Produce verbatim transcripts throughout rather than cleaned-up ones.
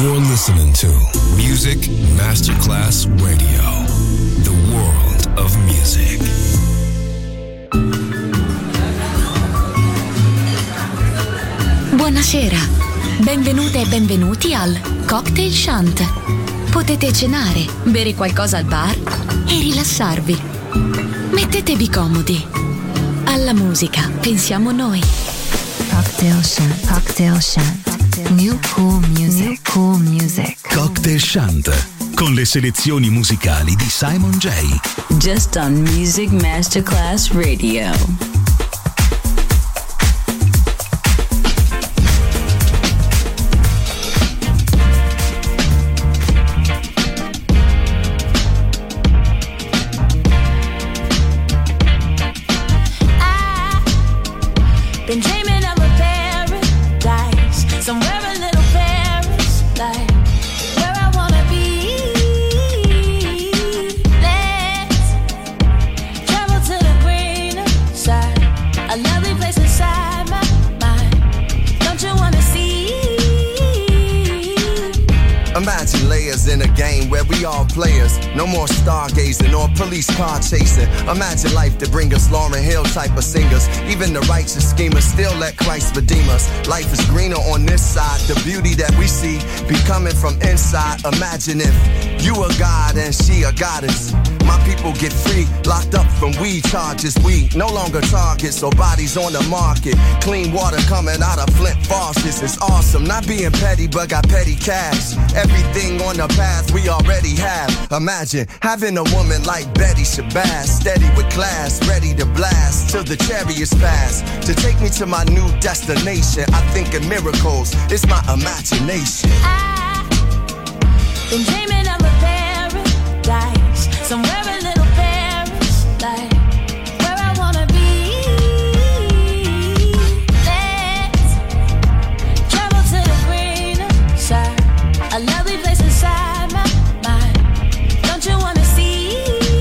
You're listening to Music Masterclass Radio, the world of music. Buonasera, benvenute e benvenuti al Cocktail Shant. Potete cenare, bere qualcosa al bar e rilassarvi. Mettetevi comodi. Alla musica pensiamo noi. Cocktail Shant, Cocktail Shant. New cool music, New cool music. Cocktail Shant, con le selezioni musicali di Simon J. Just on Music Masterclass Radio. Been dreaming of a paradise, somewhere a little Paris, like where I wanna be. Let's travel to the greener side, a lovely place inside my mind. Don't you wanna see? Imagine layers in a game where we all players. No more stargazing or police car chasing. Imagine life to bring us Lauryn Hill type of singers. Even the righteous schemers still let Christ redeem us. Life is greener on this side. The beauty that we see be coming from inside. Imagine if you a god and she a goddess. My people get free, locked up from weed charges. We no longer targets or bodies on the market. Clean water coming out of Flint faucets. It's awesome, not being petty but got petty cash. Everything on the path we already have. Imagine having a woman like Betty Shabazz, steady with class, ready to blast till the chariots pass. To take me to my new destination, I think in miracles, it's my imagination. I've been dreaming of a paradise, somewhere a little Paris, like where I wanna be. Let's travel to the greener side, a lovely place inside my mind. Don't you wanna see?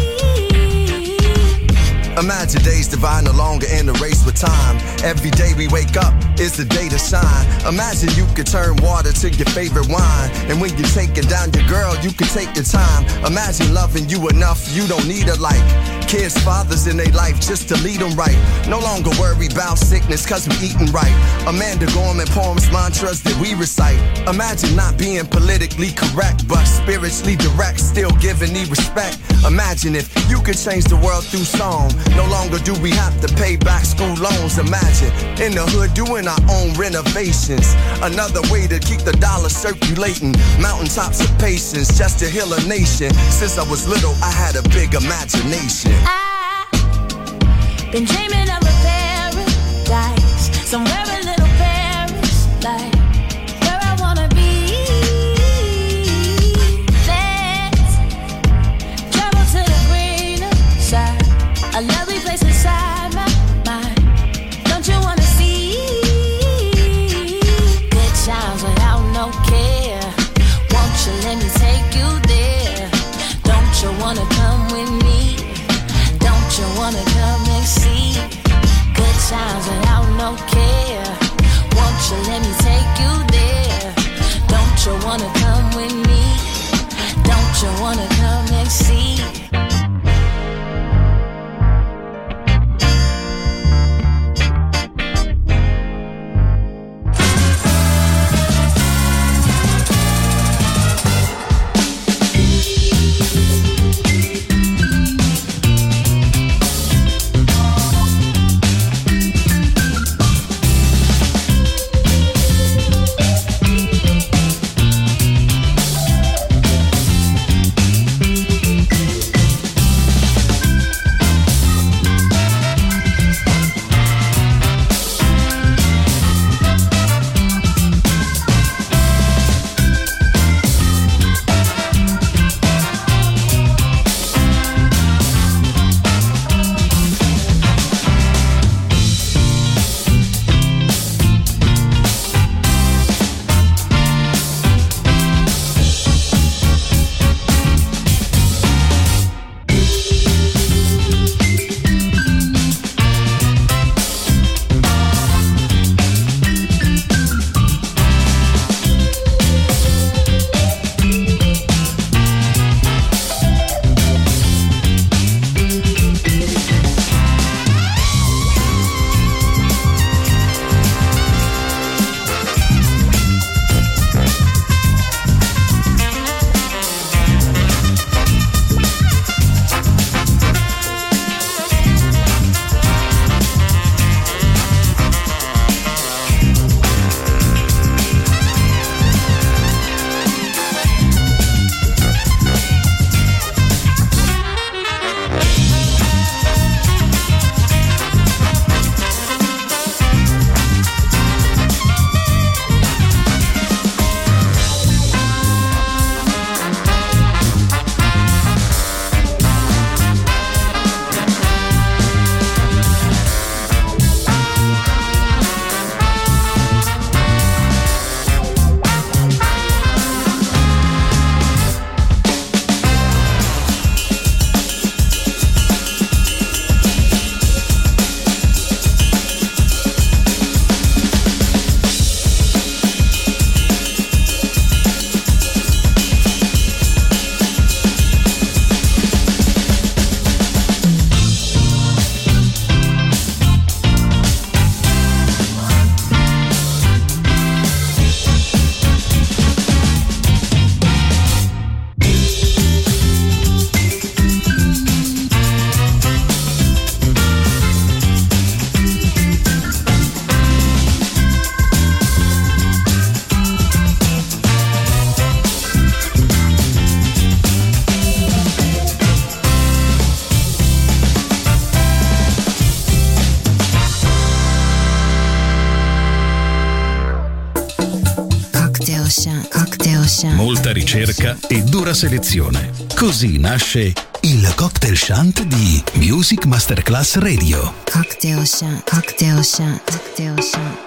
Imagine days divine, no longer in a race with time. Every day we wake up is the day to shine. Imagine you could turn water to your favorite wine. And when you're taking down your girl, you can take your time. Imagine loving you enough, you don't need a like. Kids, fathers in their life just to lead them right. No longer worry about sickness cause we eating right. Amanda Gorman poems, mantras that we recite. Imagine not being politically correct but spiritually direct, still giving me respect. Imagine if you could change the world through song. No longer do we have to pay back school loans. Imagine in the hood doing our own renovations. Another way to keep the dollar circulating. Mountaintops of patience just to heal a nation. Since I was little I had a big imagination. I've been dreaming of a paradise, somewhere a little Paris, like where I wanna be. Let's travel to the greener side, a lovely place inside my mind. Don't you wanna see? Good times without no care. Won't you let me take you there? Don't you wanna come with me? Don't you wanna come and see? Good times without no care. Shant, Cocktail Shant. Molta ricerca e dura selezione. Così nasce il Cocktail Shant di Music Masterclass Radio. Cocktail Shant, Cocktail Shant, Cocktail Shant.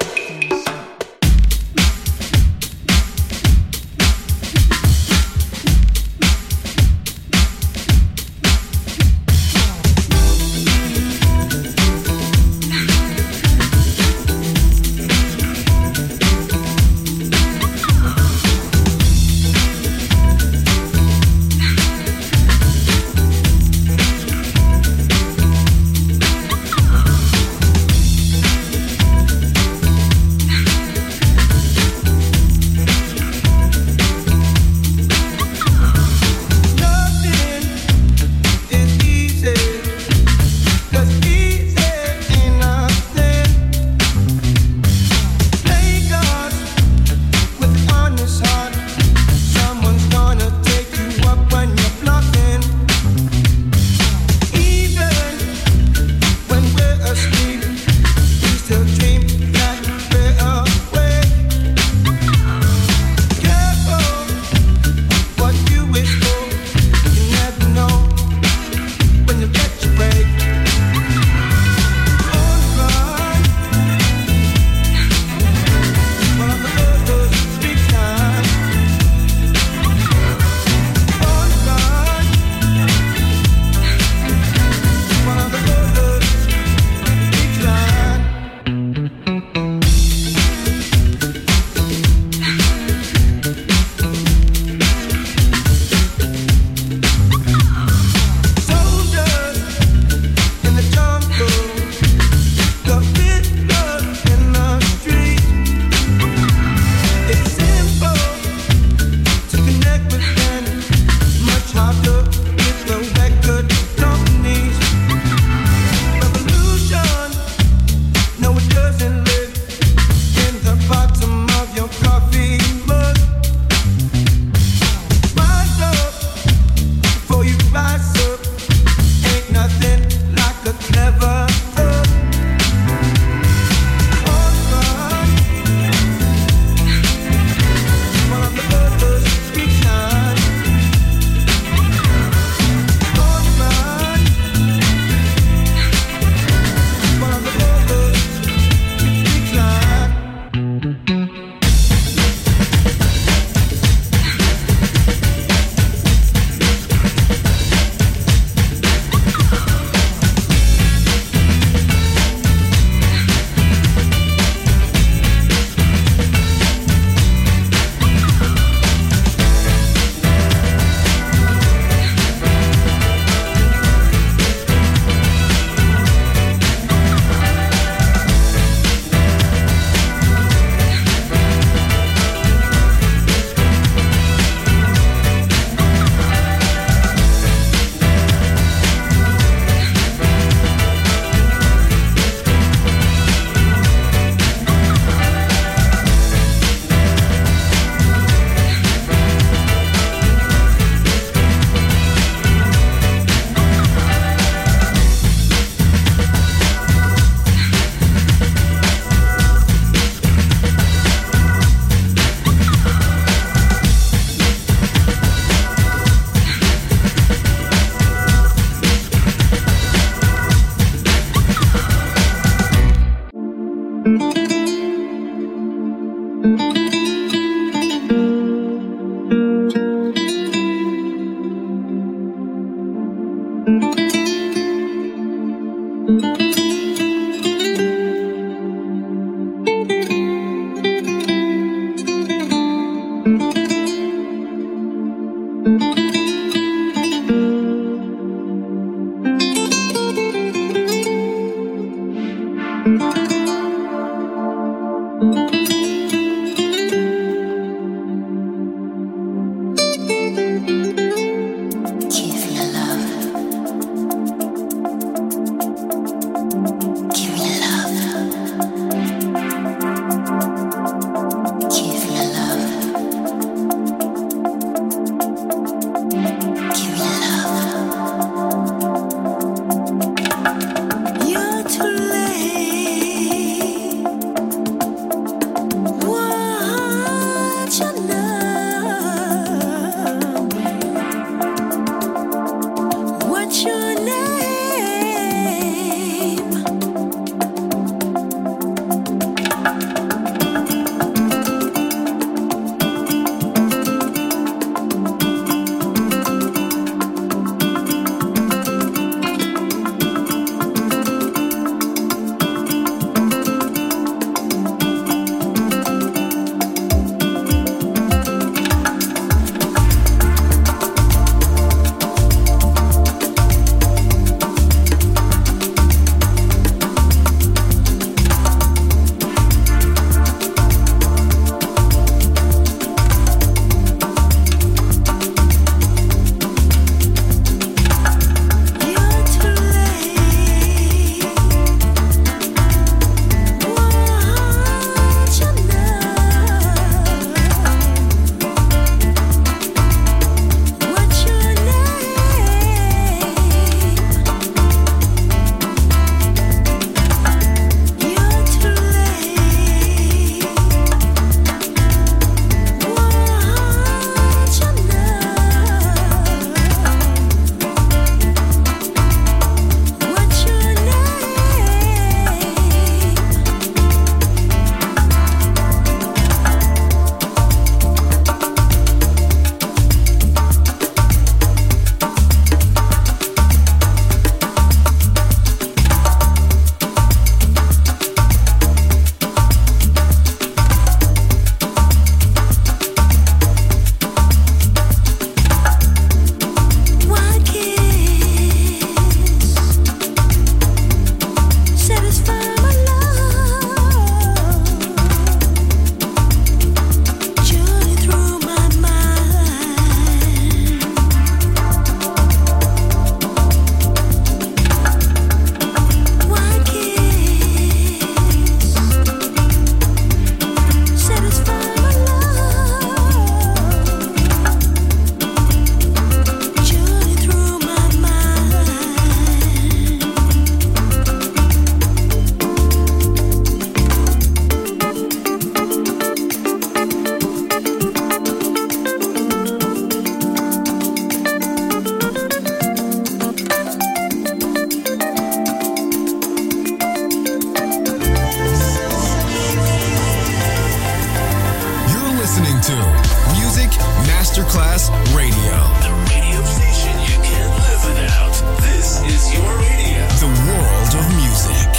listening to Music Masterclass Radio. The radio station you can't live without. This is your radio. The world of music.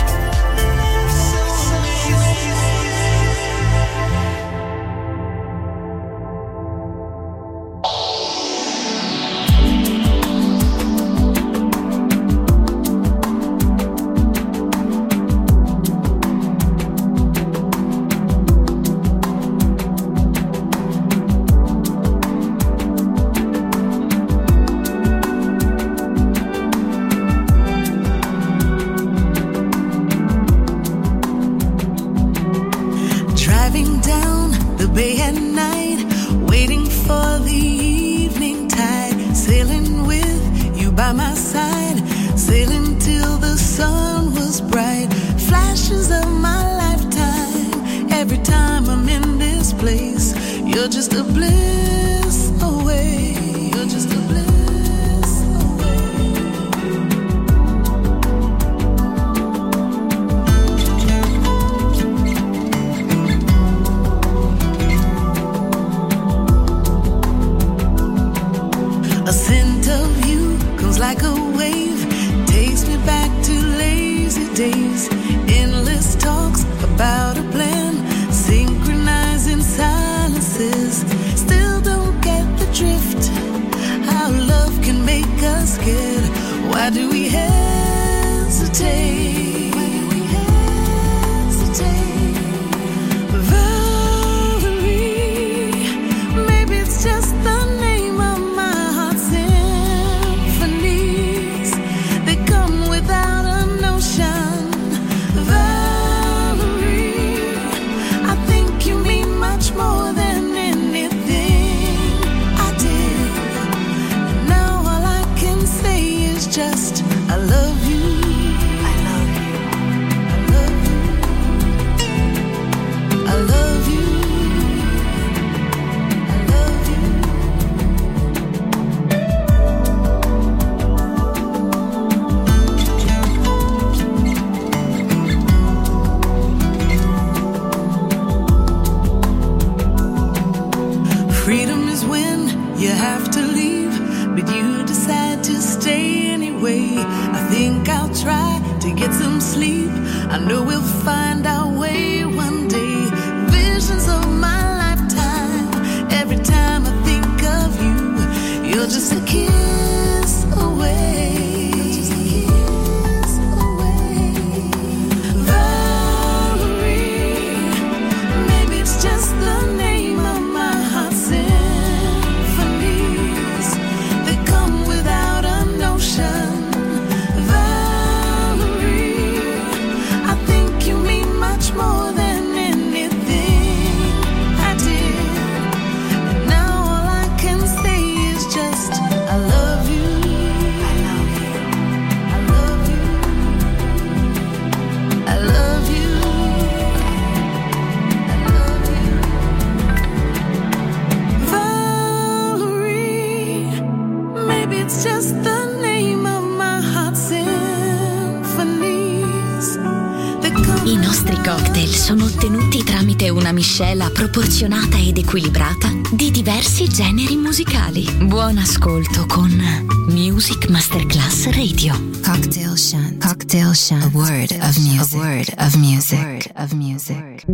Sono ottenuti tramite una miscela proporzionata ed equilibrata di diversi generi musicali. Buon ascolto con Music Masterclass Radio. Cocktail Shant. Cocktail Shant. A word of music. A word of music. A word of music.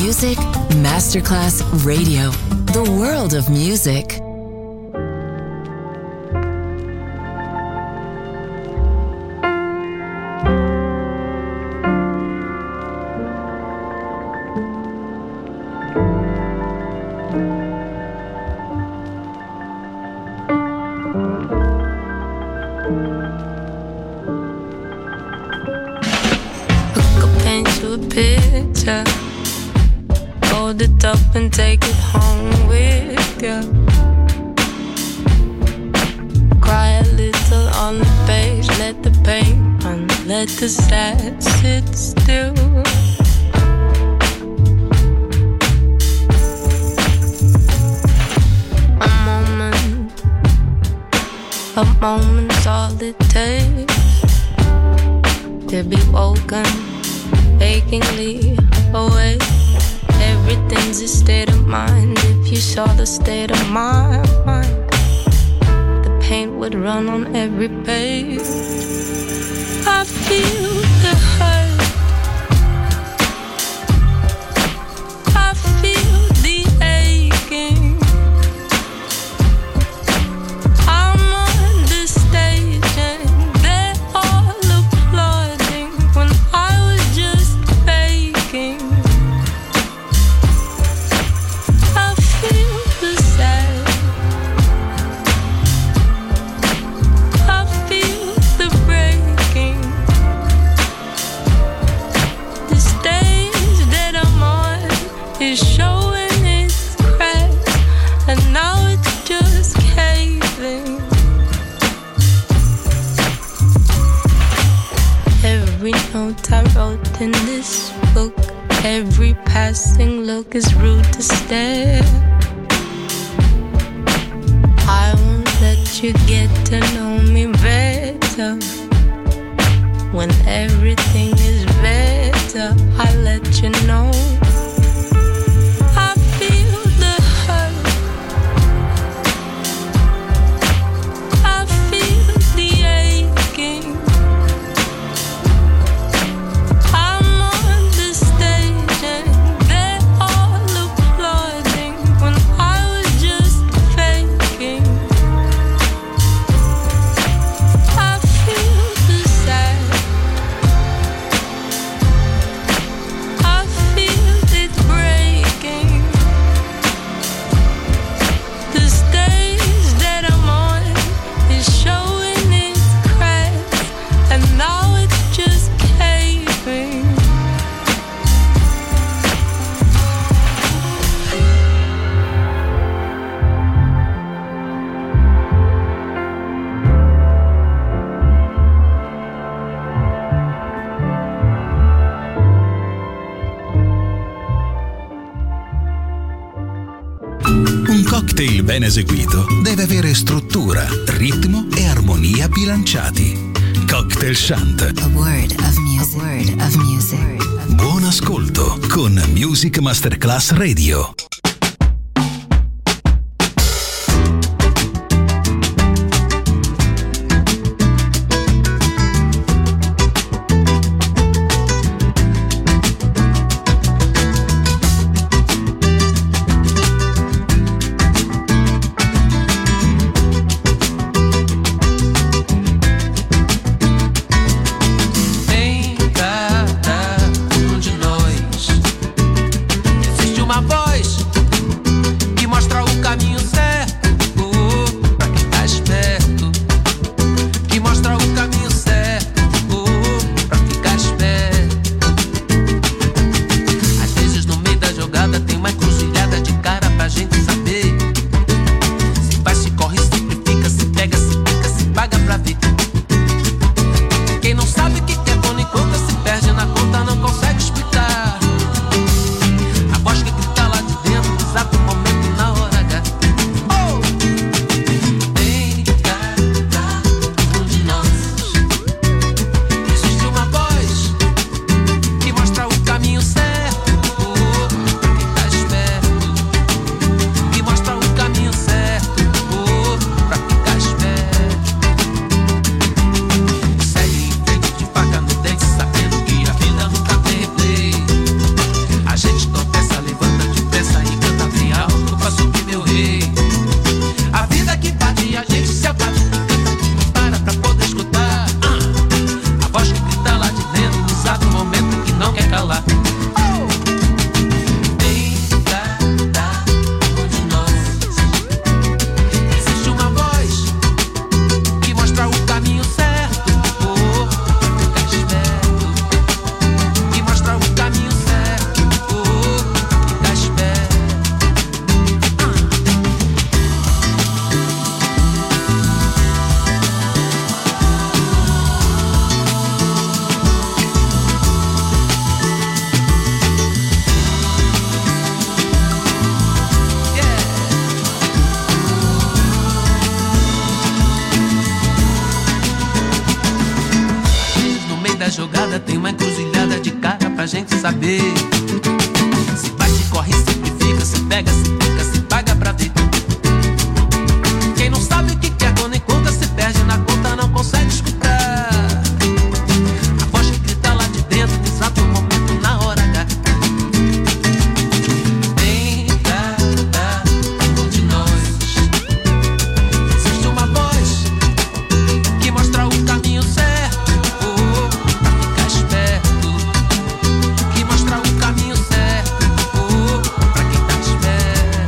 Music Masterclass Radio. The world of music. Hold it up and take it home with you. Cry a little on the page, let the pain run, let the sad sit still. A moment, a moment's all it takes to be woken, achingly awake. Everything's a state of mind. If you saw the state of my mind, the paint would run on every page. I feel the hurt, I feel the aching. I'm on the stage and they're all applauding when I was just faking. Showing its cracks, and now it's just caving. Every note I wrote in this book, every passing look is rude to stare. I won't let you get to know me better. When everything is better, I let you know. cocktail ben eseguito deve avere struttura, ritmo e armonia bilanciati. Cocktail Shant. A word of music. A word of music. Buon ascolto con Music Masterclass Radio. Voz que grita lá estrada tem uma encruzilhada de cara pra gente saber. Se vai, se corre, se fica, se pega, se fica, se paga pra ver. Quem não sabe o que quer quando encontra, se perde na conta, não consegue escutar a voz que grita lá de dentro, no exato momento, na hora H. Em cada um de nós existe uma voz que mostra o caminho certo, oh, pra ficar esperto. Que mostra o caminho certo, oh, pra quem tá esperto.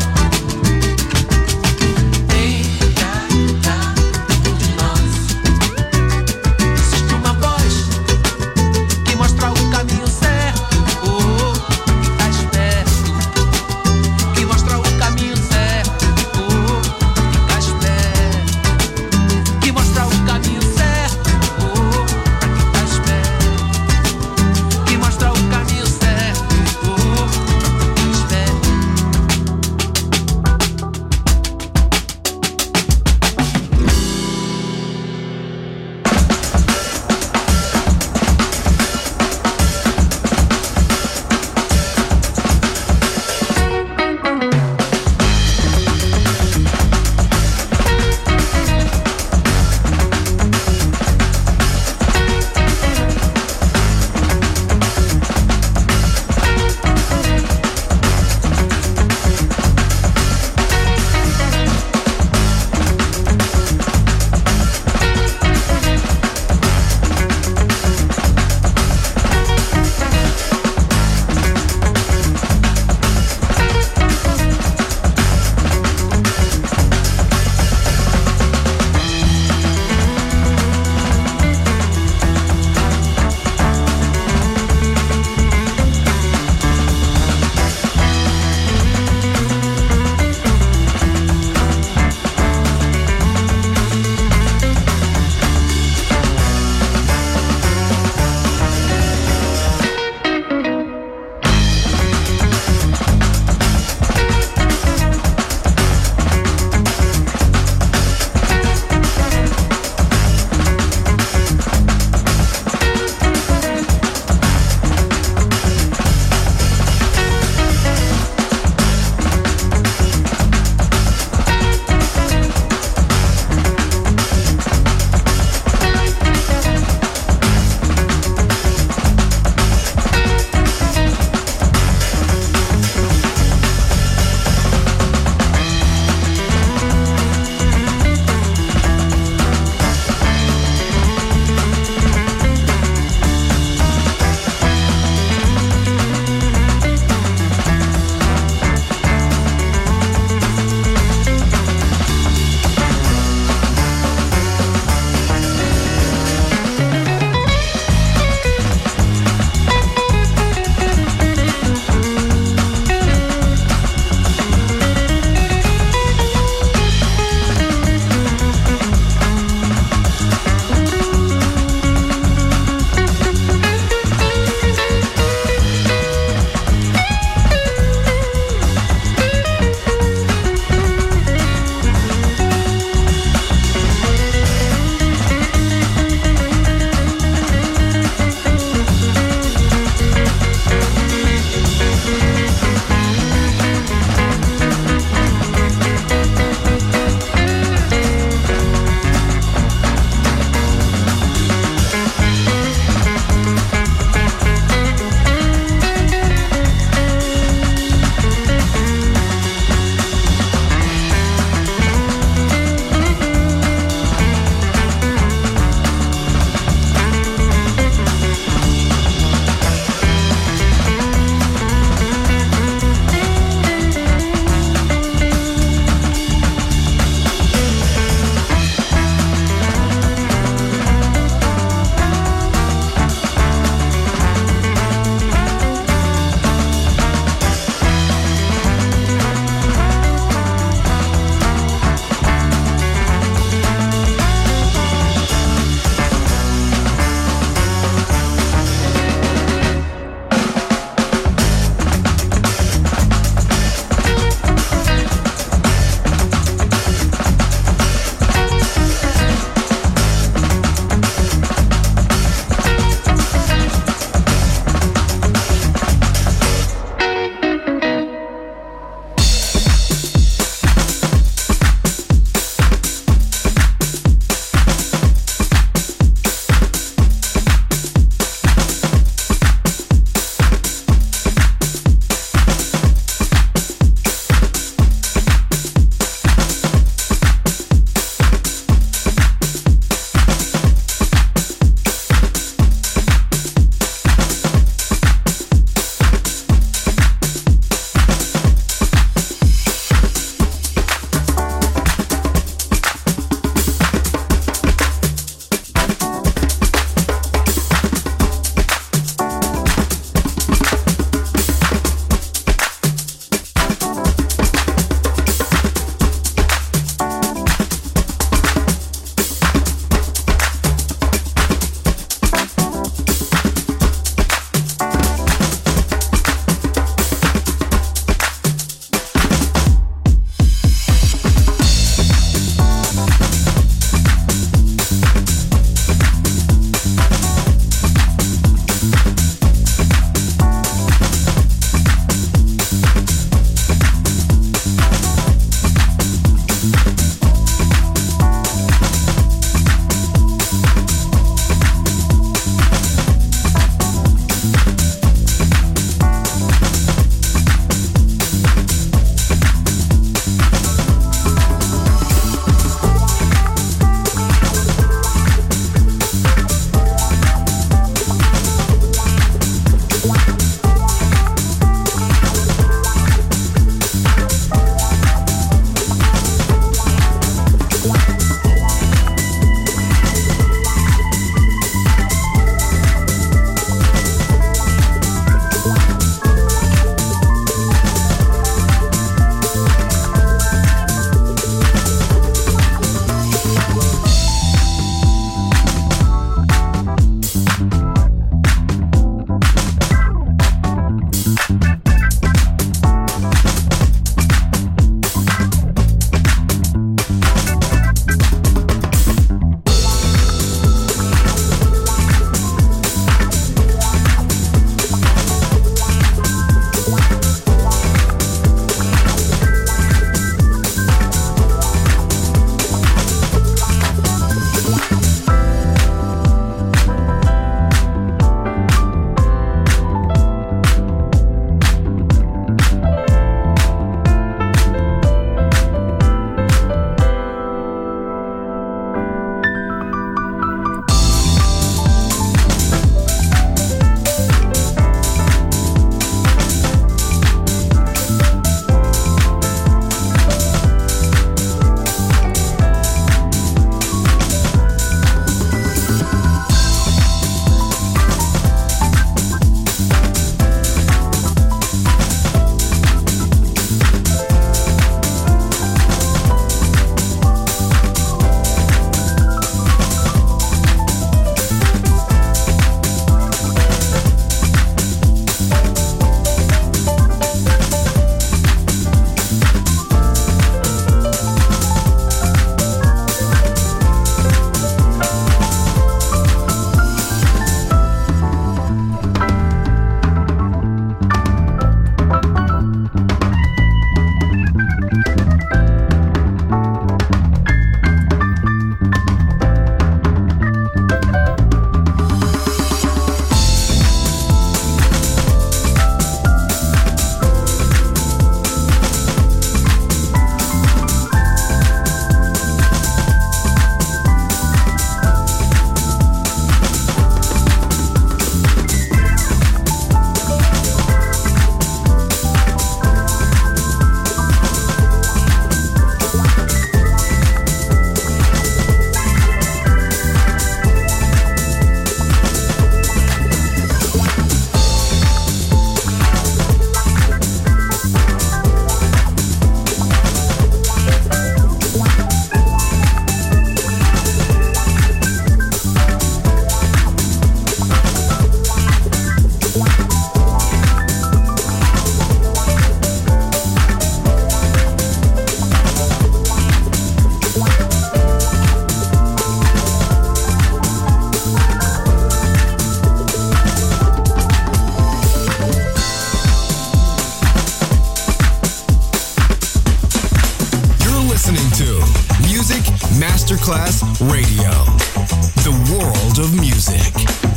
Music Masterclass Radio. The world of music.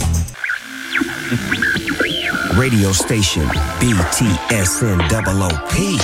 Radio station B T S N O O P.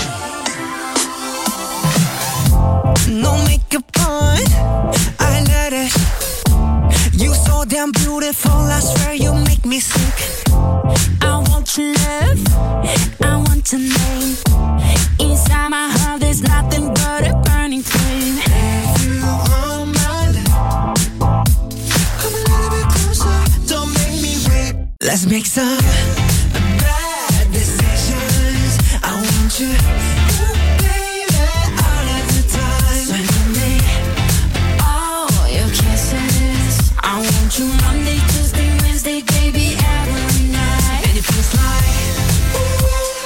No makeup on, I let it. You so damn beautiful, I swear you make me sick. I want your love, I want your name. Inside my heart there's nothing but a burning flame. If you want my love, come a little bit closer, don't make me wait. Let's make some bad decisions. I want you, ooh, baby, all of the time. So give me all your kisses. I want you Monday, Tuesday, Wednesday, baby, every night. And it feels like, ooh,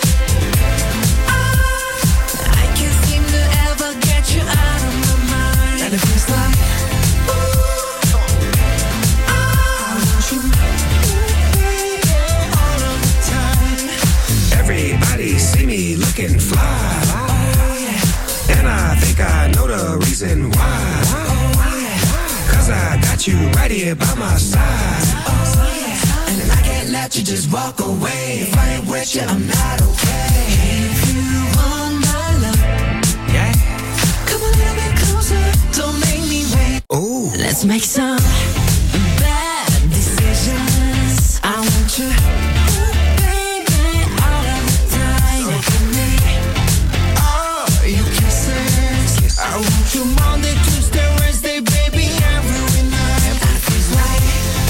ah, I can't seem to ever get you out of my mind. And it feels like, ooh, ah, I want you, ooh, baby, all of the time. Everybody see me looking fly, and I think I know the reason why. Cause I got you right here by my side. And I can't let you just walk away. If I ain't with you, I'm not okay. If you want my love, Yeah. come a little bit closer, don't make me wait. Ooh. Let's make some bad decisions. I want you, ooh, baby, all of the time. So give me all your kisses. I want you Monday, Tuesday, Wednesday, baby, every night. I feel like,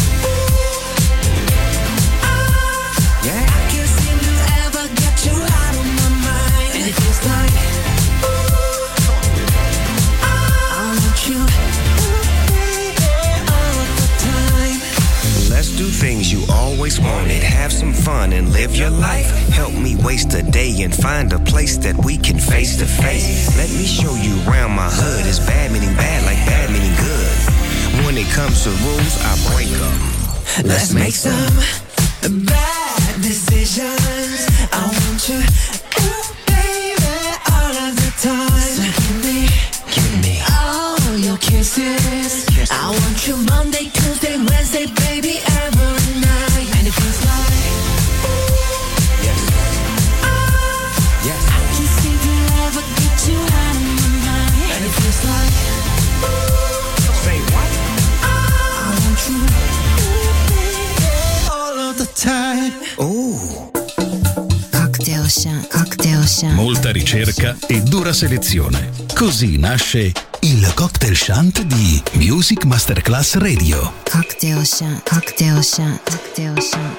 ooh, ah, Yeah. I can't seem to ever get you out of my mind. And it feels like, ooh, ah, I want you, ooh, baby, all of the time. Let's do things you always wanted. Have some fun and live your life. Help me waste a day and find a place that we can face to face. Let me show you around my hood. It's bad meaning bad like bad meaning good. When it comes to rules, I break them. Let's make some bad decisions. I want you, ooh, baby, all of the time. So give me, Give me all your kisses. I want you Monday, Tuesday, Wednesday, baby, every night. And it feels like, ooh, yes, ah, yes. I can't seem to ever get you out of my mind. And it feels like, ooh, Say what? I want you, ooh, baby, all of the time. Ooh. Cocktail Shant, Cocktail Shant. Molta ricerca e dura selezione. Così nasce il Cocktail Shant di Music Masterclass Radio. Cocktail Shant, Cocktail Shant, Cocktail Shant.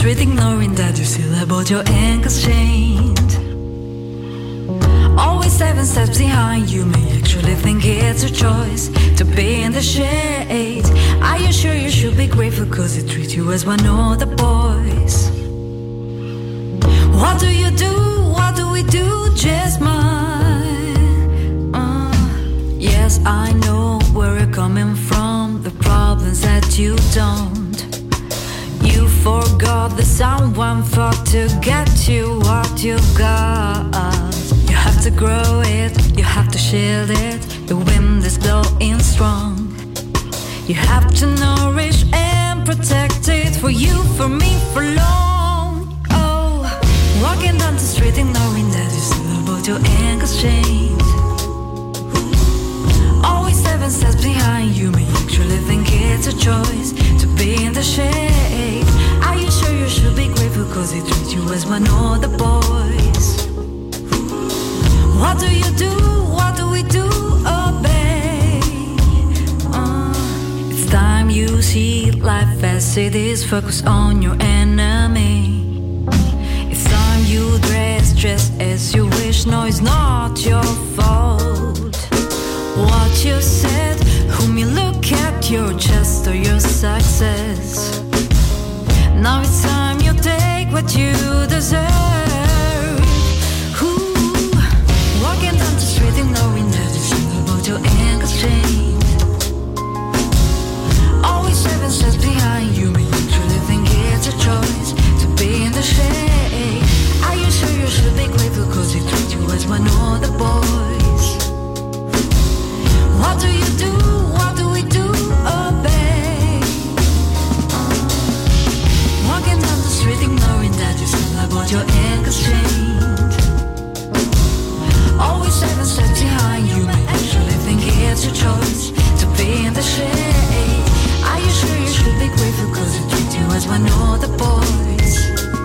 street ignoring that you still have both your ankles chained. Always seven steps behind you, may actually think it's a choice to be in the shade. Are you sure you should be grateful cause they treat you as one of the boys? What do you do, what do we do, just mine? Uh, yes, I know where you're coming from, the problems that you don't. You forgot that someone fought to get you what you got. You have to grow it, you have to shield it, the wind is blowing strong. You have to nourish and protect it, for you, for me, for long. Oh, walking down the street ignoring that you still have both your ankles chained. Always seven steps behind you, may actually think it's a choice to be in the shade. Are you sure you should be grateful cause they treat you as one of the boys? What do you do, what do we do, oh babe? Uh, it's time you see life as it is, focus on your enemy. It's time you dress just as you wish, no it's not your fault. What you said, whom you look at, your chest or your success. Now it's time you take what you deserve. Ooh, walking down the street ignoring that you still about your ankles chained. Always seven steps behind you, may actually think it's a choice to be in the shade. Are you sure you should be grateful cause they treat you as one of the boys? What do you do, what do we do, oh babe? Uh, walking down the street ignoring that you still have both your ankles chained. Always seven steps behind you, may actually think it's your choice to be in the shade. Are you sure you should be grateful cause they treat you as one of the boys?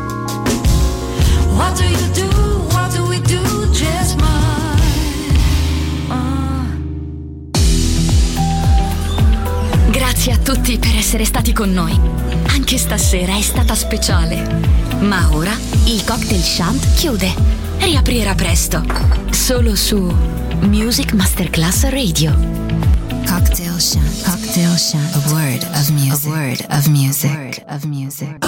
What do you do, what do we do, just mine? Uh, Grazie a tutti per essere stati con noi. Anche stasera è stata speciale. Ma ora il Cocktail Shant chiude. Riaprirà presto. Solo su Music Masterclass Radio. Cocktail Shant. Cocktail Shant. A word of music. A word of music. A word of music.